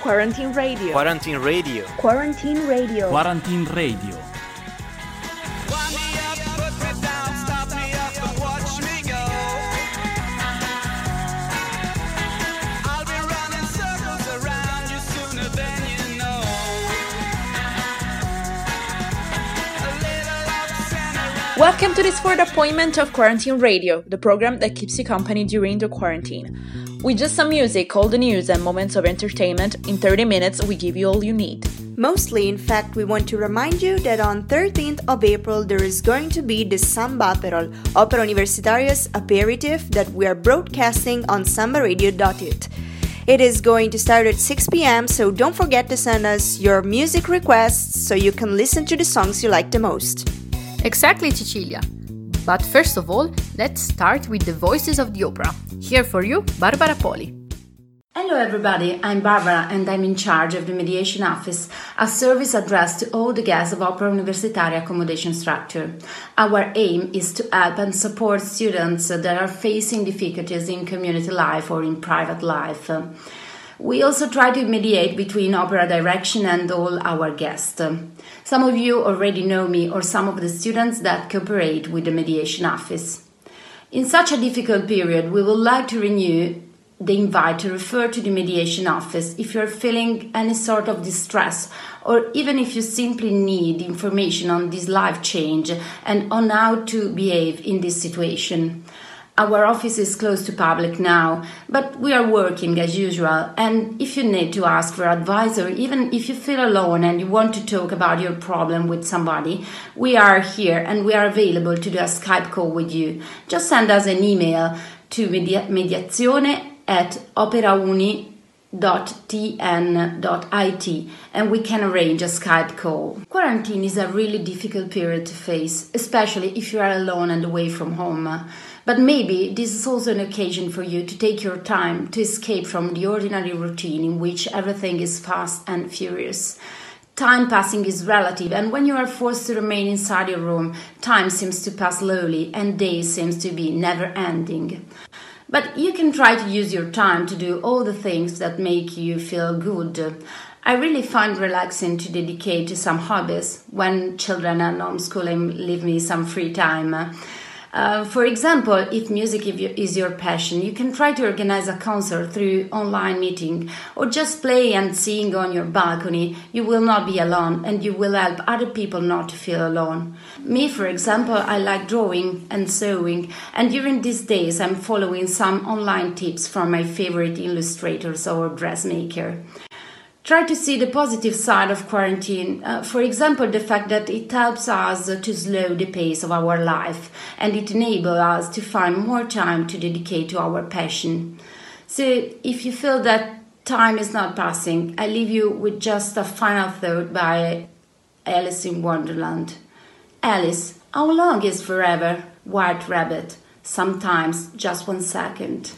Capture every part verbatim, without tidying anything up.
Quarantine Radio. Quarantine Radio. Quarantine Radio. Quarantine Radio. Welcome to this fourth appointment of Quarantine Radio, the program that keeps you company during the quarantine. With just some music, all the news and moments of entertainment, in thirty minutes we give you all you need. Mostly, in fact, we want to remind you that on thirteenth of April there is going to be the Samba Aperol, Opera Universitaria's aperitif that we are broadcasting on samba radio dot it. It is going to start at six p.m, so don't forget to send us your music requests so you can listen to the songs you like the most. Exactly, Cecilia. But first of all, let's start with the voices of the opera. Here for you, Barbara Poli. Hello everybody, I'm Barbara and I'm in charge of the Mediation Office, a service addressed to all the guests of Opera Universitaria accommodation structure. Our aim is to help and support students that are facing difficulties in community life or in private life. We also try to mediate between opera direction and all our guests. Some of you already know me or some of the students that cooperate with the Mediation Office. In such a difficult period, we would like to renew the invite to refer to the Mediation Office if you're feeling any sort of distress or even if you simply need information on this life change and on how to behave in this situation. Our office is closed to public now, but we are working as usual, and if you need to ask for advice or even if you feel alone and you want to talk about your problem with somebody, we are here and we are available to do a Skype call with you. Just send us an email to media- mediazione at operauni dot t n dot i t and we can arrange a Skype call. Quarantine is a really difficult period to face, especially if you are alone and away from home. But maybe this is also an occasion for you to take your time to escape from the ordinary routine in which everything is fast and furious. Time passing is relative, and when you are forced to remain inside your room, time seems to pass slowly and days seems to be never ending. But you can try to use your time to do all the things that make you feel good. I really find relaxing to dedicate to some hobbies when children and homeschooling leave me some free time. Uh, for example, if music is your passion, you can try to organize a concert through online meeting or just play and sing on your balcony. You will not be alone and you will help other people not to feel alone. Me, for example, I like drawing and sewing, and during these days I'm following some online tips from my favorite illustrators or dressmaker. Try to see the positive side of quarantine. Uh, for example, the fact that it helps us to slow the pace of our life and it enables us to find more time to dedicate to our passion. So if you feel that time is not passing, I leave you with just a final thought by Alice in Wonderland. Alice, how long is forever? White Rabbit. Sometimes just one second.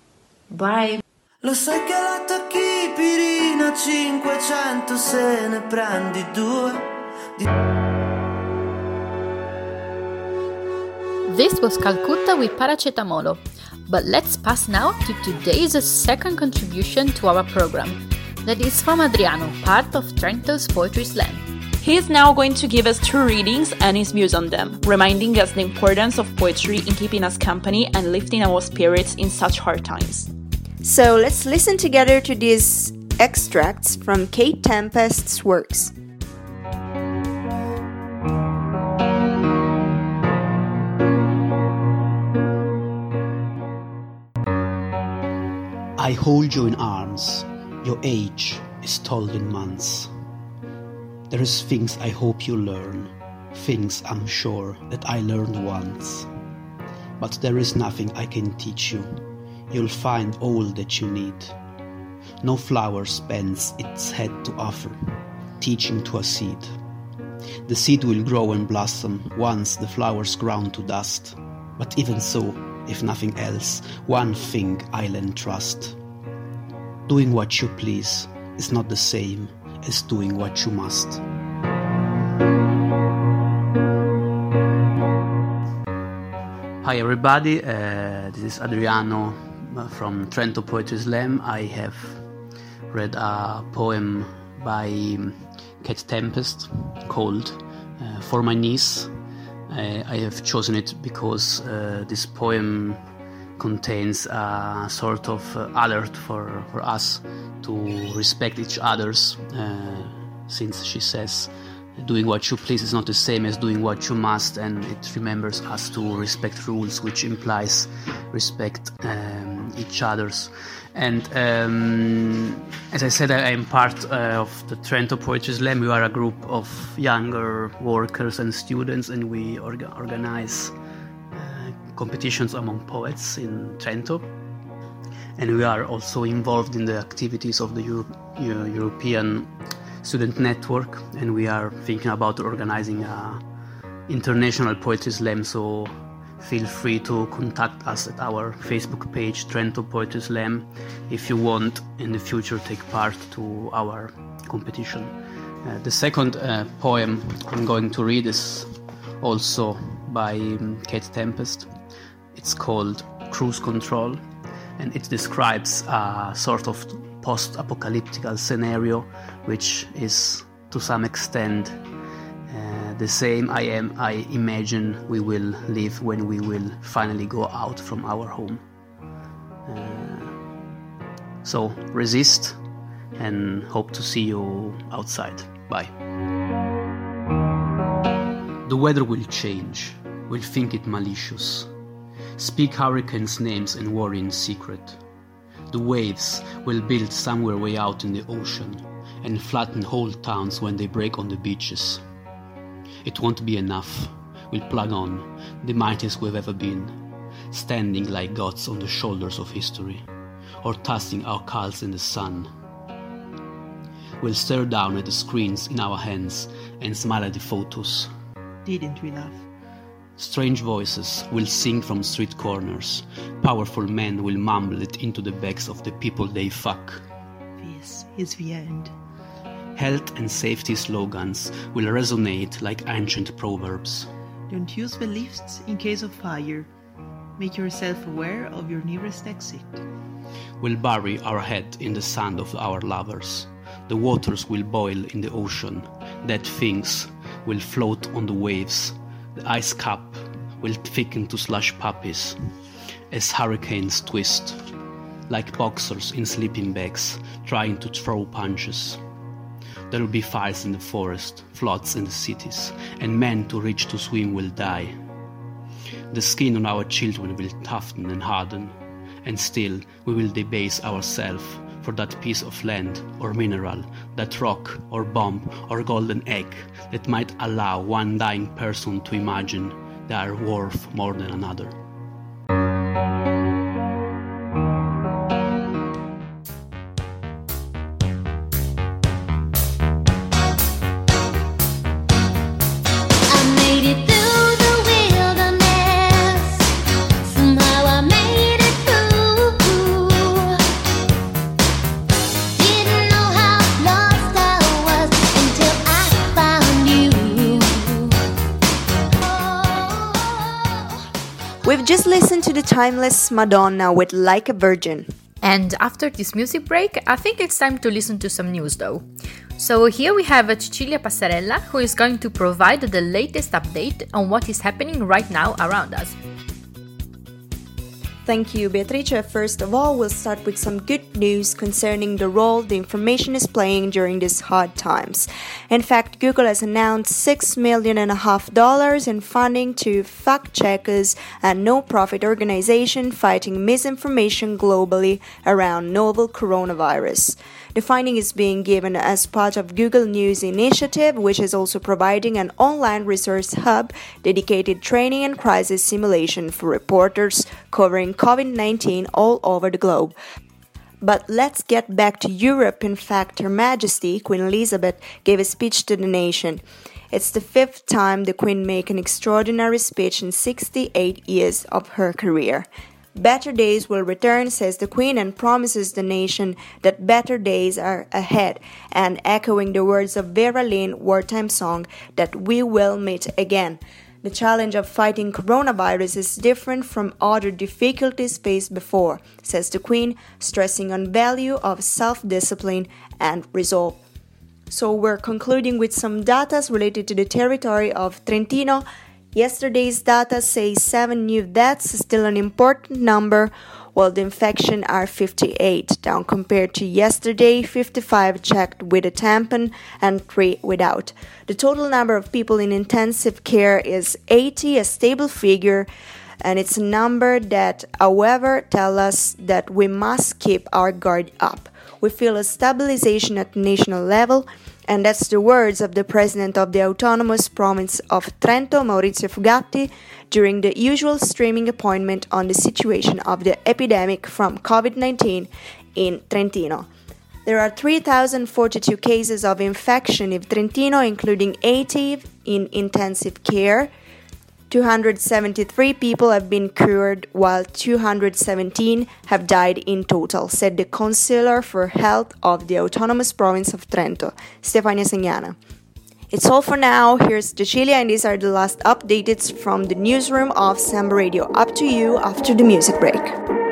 Bye. Lo sai che la tocchi pirina cinquecento se ne prendi due. This was Calcutta with Paracetamolo. But let's pass now to today's second contribution to our program. That is from Adriano, part of Trento's Poetry Slam. He is now going to give us two readings and his views on them, reminding us the importance of poetry in keeping us company and lifting our spirits in such hard times. So let's listen together to these extracts from Kate Tempest's works. I hold you in arms. Your age is told in months. There is things I hope you learn, things I'm sure that I learned once. But there is nothing I can teach you. You'll find all that you need. No flower bends its head to offer, teaching to a seed. The seed will grow and blossom once the flowers ground to dust. But even so, if nothing else, one thing I'll entrust. Doing what you please is not the same as doing what you must. Hi everybody, uh, this is Adriano from Trento Poetry Slam. I have read a poem by Kate Tempest called uh, For My Niece. Uh, I have chosen it because uh, this poem contains a sort of uh, alert for, for us to respect each other's, uh, since she says doing what you please is not the same as doing what you must, and it remembers us to respect rules, which implies respect um, each other's. And um, as I said, I am part uh, of the Trento Poetry Slam. We are a group of younger workers and students, and we orga- organize uh, competitions among poets in Trento. And we are also involved in the activities of the Euro- Euro- European Student Network, and we are thinking about organizing a international poetry slam, so feel free to contact us at our Facebook page, Trento Poetry Slam, if you want in the future take part to our competition. Uh, the second uh, poem I'm going to read is also by um, Kate Tempest. It's called Cruise Control, and it describes a sort of post-apocalyptic scenario, which is to some extent uh, the same I am I imagine we will live when we will finally go out from our home. Uh, so resist and hope to see you outside. Bye. The weather will change, we'll think it malicious, speak hurricanes' names and worry in secret. The waves will build somewhere way out in the ocean and flatten whole towns when they break on the beaches. It won't be enough. We'll plug on, the mightiest we've ever been, standing like gods on the shoulders of history, or tossing our cults in the sun. We'll stare down at the screens in our hands and smile at the photos. Didn't we laugh? Strange voices will sing from street corners. Powerful men will mumble it into the backs of the people they fuck. This is the end. Health and safety slogans will resonate like ancient proverbs. Don't use the lifts in case of fire. Make yourself aware of your nearest exit. We'll bury our head in the sand of our lovers. The waters will boil in the ocean. Dead things will float on the waves. The ice cap will thicken to slush puppies as hurricanes twist, like boxers in sleeping bags trying to throw punches. There will be fires in the forest, floods in the cities, and men too rich to swim will die. The skin on our children will toughen and harden, and still we will debase ourselves for that piece of land or mineral, that rock or bomb or golden egg that might allow one dying person to imagine they are worth more than another. We've just listened to the timeless Madonna with Like a Virgin. And after this music break, I think it's time to listen to some news though. So here we have Cecilia Passarella, who is going to provide the latest update on what is happening right now around us. Thank you, Beatrice. First of all, we'll start with some good news concerning the role the information is playing during these hard times. In fact, Google has announced six million and a half dollars in funding to fact checkers and no-profit organization fighting misinformation globally around novel coronavirus. The funding is being given as part of Google News Initiative, which is also providing an online resource hub dedicated training and crisis simulation for reporters covering covid nineteen all over the globe. But let's get back to Europe. In fact, Her Majesty, Queen Elizabeth, gave a speech to the nation. It's the fifth time the Queen made an extraordinary speech in sixty-eight years of her career. Better days will return, says the Queen, and promises the nation that better days are ahead, and echoing the words of Vera Lynn's wartime song that we will meet again. The challenge of fighting coronavirus is different from other difficulties faced before, says the Queen, stressing on value of self-discipline and resolve. So we're concluding with some data related to the territory of Trentino. Yesterday's data say seven new deaths, still an important number, while the infection are fifty-eight, down compared to yesterday, fifty-five checked with a tampon and three without. The total number of people in intensive care is eighty, a stable figure, and it's a number that, however, tells us that we must keep our guard up. We feel a stabilization at national level, and that's the words of the president of the autonomous province of Trento, Maurizio Fugatti, during the usual streaming appointment on the situation of the epidemic from covid nineteen in Trentino. There are three thousand forty-two cases of infection in Trentino, including eighty in intensive care. two hundred seventy-three people have been cured, while two hundred seventeen have died in total, said the Councillor for Health of the Autonomous Province of Trento, Stefania Segnana. It's all for now. Here's Cecilia, and these are the last updates from the newsroom of Samba Radio. Up to you after the music break.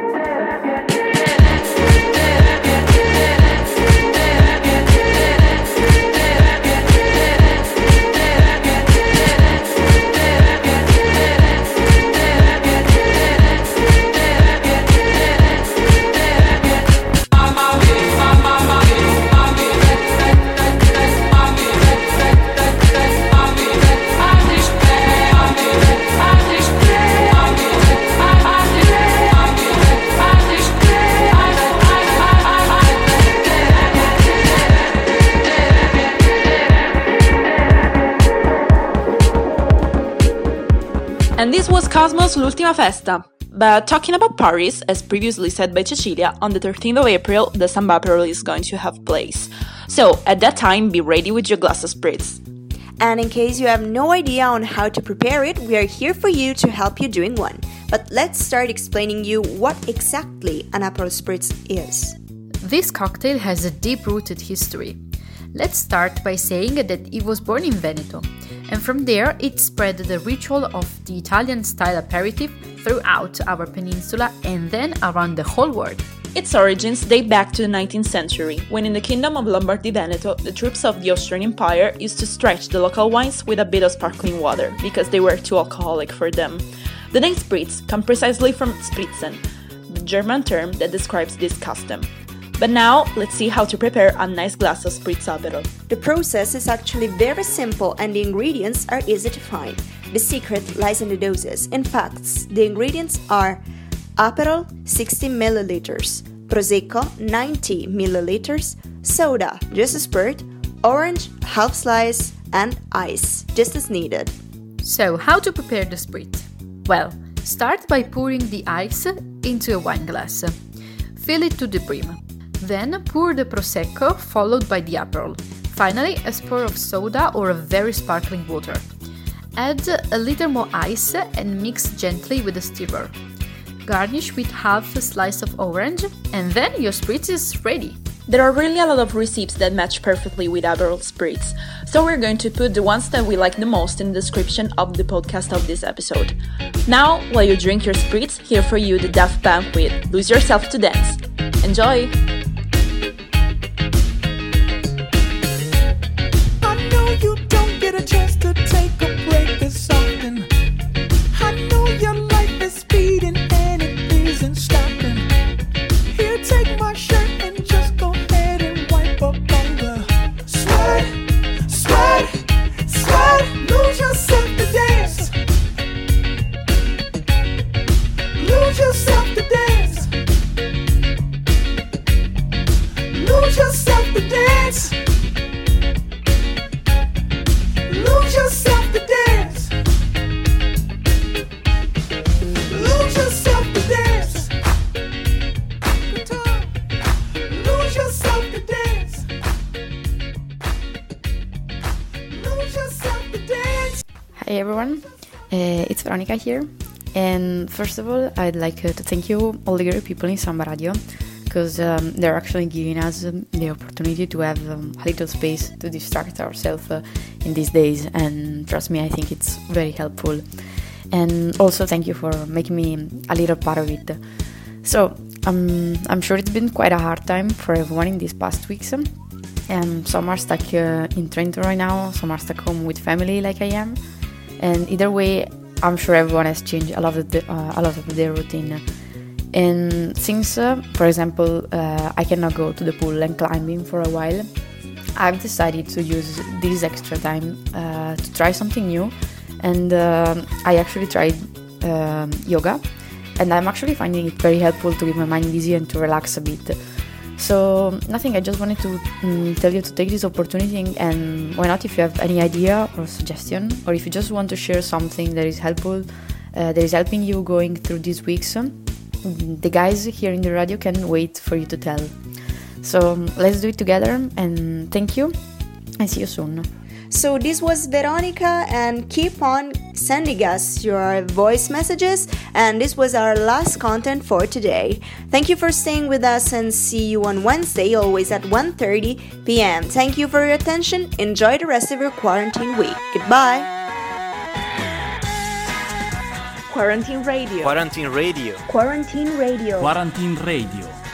And this was Cosmos L'Ultima Festa. But talking about parties, as previously said by Cecilia, on the thirteenth of April, the Sambaperol is going to have place. So, at that time, be ready with your glass of spritz. And in case you have no idea on how to prepare it, we are here for you to help you doing one. But let's start explaining you what exactly an Aperol Spritz is. This cocktail has a deep-rooted history. Let's start by saying that it was born in Veneto, and from there it spread the ritual of the Italian-style aperitif throughout our peninsula and then around the whole world. Its origins date back to the nineteenth century, when in the Kingdom of Lombardy-Veneto, the troops of the Austrian Empire used to stretch the local wines with a bit of sparkling water, because they were too alcoholic for them. The name Spritz comes precisely from Spritzen, the German term that describes this custom. But now, let's see how to prepare a nice glass of Spritz Aperol. The process is actually very simple and the ingredients are easy to find. The secret lies in the doses. In fact, the ingredients are Aperol sixty milliliters, Prosecco ninety milliliters, soda just a spurt, orange half slice, and ice just as needed. So, how to prepare the Spritz? Well, start by pouring the ice into a wine glass. Fill it to the brim. Then pour the Prosecco, followed by the Aperol. Finally, a spur of soda or a very sparkling water. Add a little more ice and mix gently with a stirrer. Garnish with half a slice of orange, and then your Spritz is ready. There are really a lot of recipes that match perfectly with Aperol Spritz, so we're going to put the ones that we like the most in the description of the podcast of this episode. Now, while you drink your Spritz, here for you the Daft Punk with Lose Yourself to Dance. Enjoy! I know you don't get a chance to take a break this often. I know your life is speeding and it isn't stopping. Here, take my shirt and just go ahead and wipe up all the sweat, sweat, sweat. Lose yourself to dance. Lose yourself to dance. Lose yourself to dance. Lose yourself to dance. Lose yourself to dance. Guitar. Lose yourself to dance. Lose yourself to dance. Hi everyone, uh, it's Veronica here, and first of all I'd like uh, to thank you all the great people in Samba Radio, because um, they're actually giving us um, the opportunity to have um, a little space to distract ourselves uh, in these days, and trust me, I think it's very helpful. And also thank you for making me a little part of it. So um, I'm sure it's been quite a hard time for everyone in these past weeks. And some are stuck uh, in Trento right now, some are stuck home with family like I am. And either way, I'm sure everyone has changed a lot of the, uh, a lot of their routine. And since, uh, for example, uh, I cannot go to the pool and climbing for a while, I've decided to use this extra time uh, to try something new. And uh, I actually tried uh, yoga, and I'm actually finding it very helpful to keep my mind busy and to relax a bit. So nothing, I just wanted to um, tell you to take this opportunity, and why not, if you have any idea or suggestion, or if you just want to share something that is helpful, uh, that is helping you going through these weeks, um, the guys here in the radio can wait for you to tell. So um, let's do it together, and thank you, and see you soon. So this was Veronica, and keep on sending us your voice messages, and this was our last content for today. Thank you for staying with us, and see you on Wednesday, always at one thirty p.m. Thank you for your attention. Enjoy the rest of your quarantine week. Goodbye. Quarantine Radio. Quarantine Radio. Quarantine Radio. Quarantine Radio.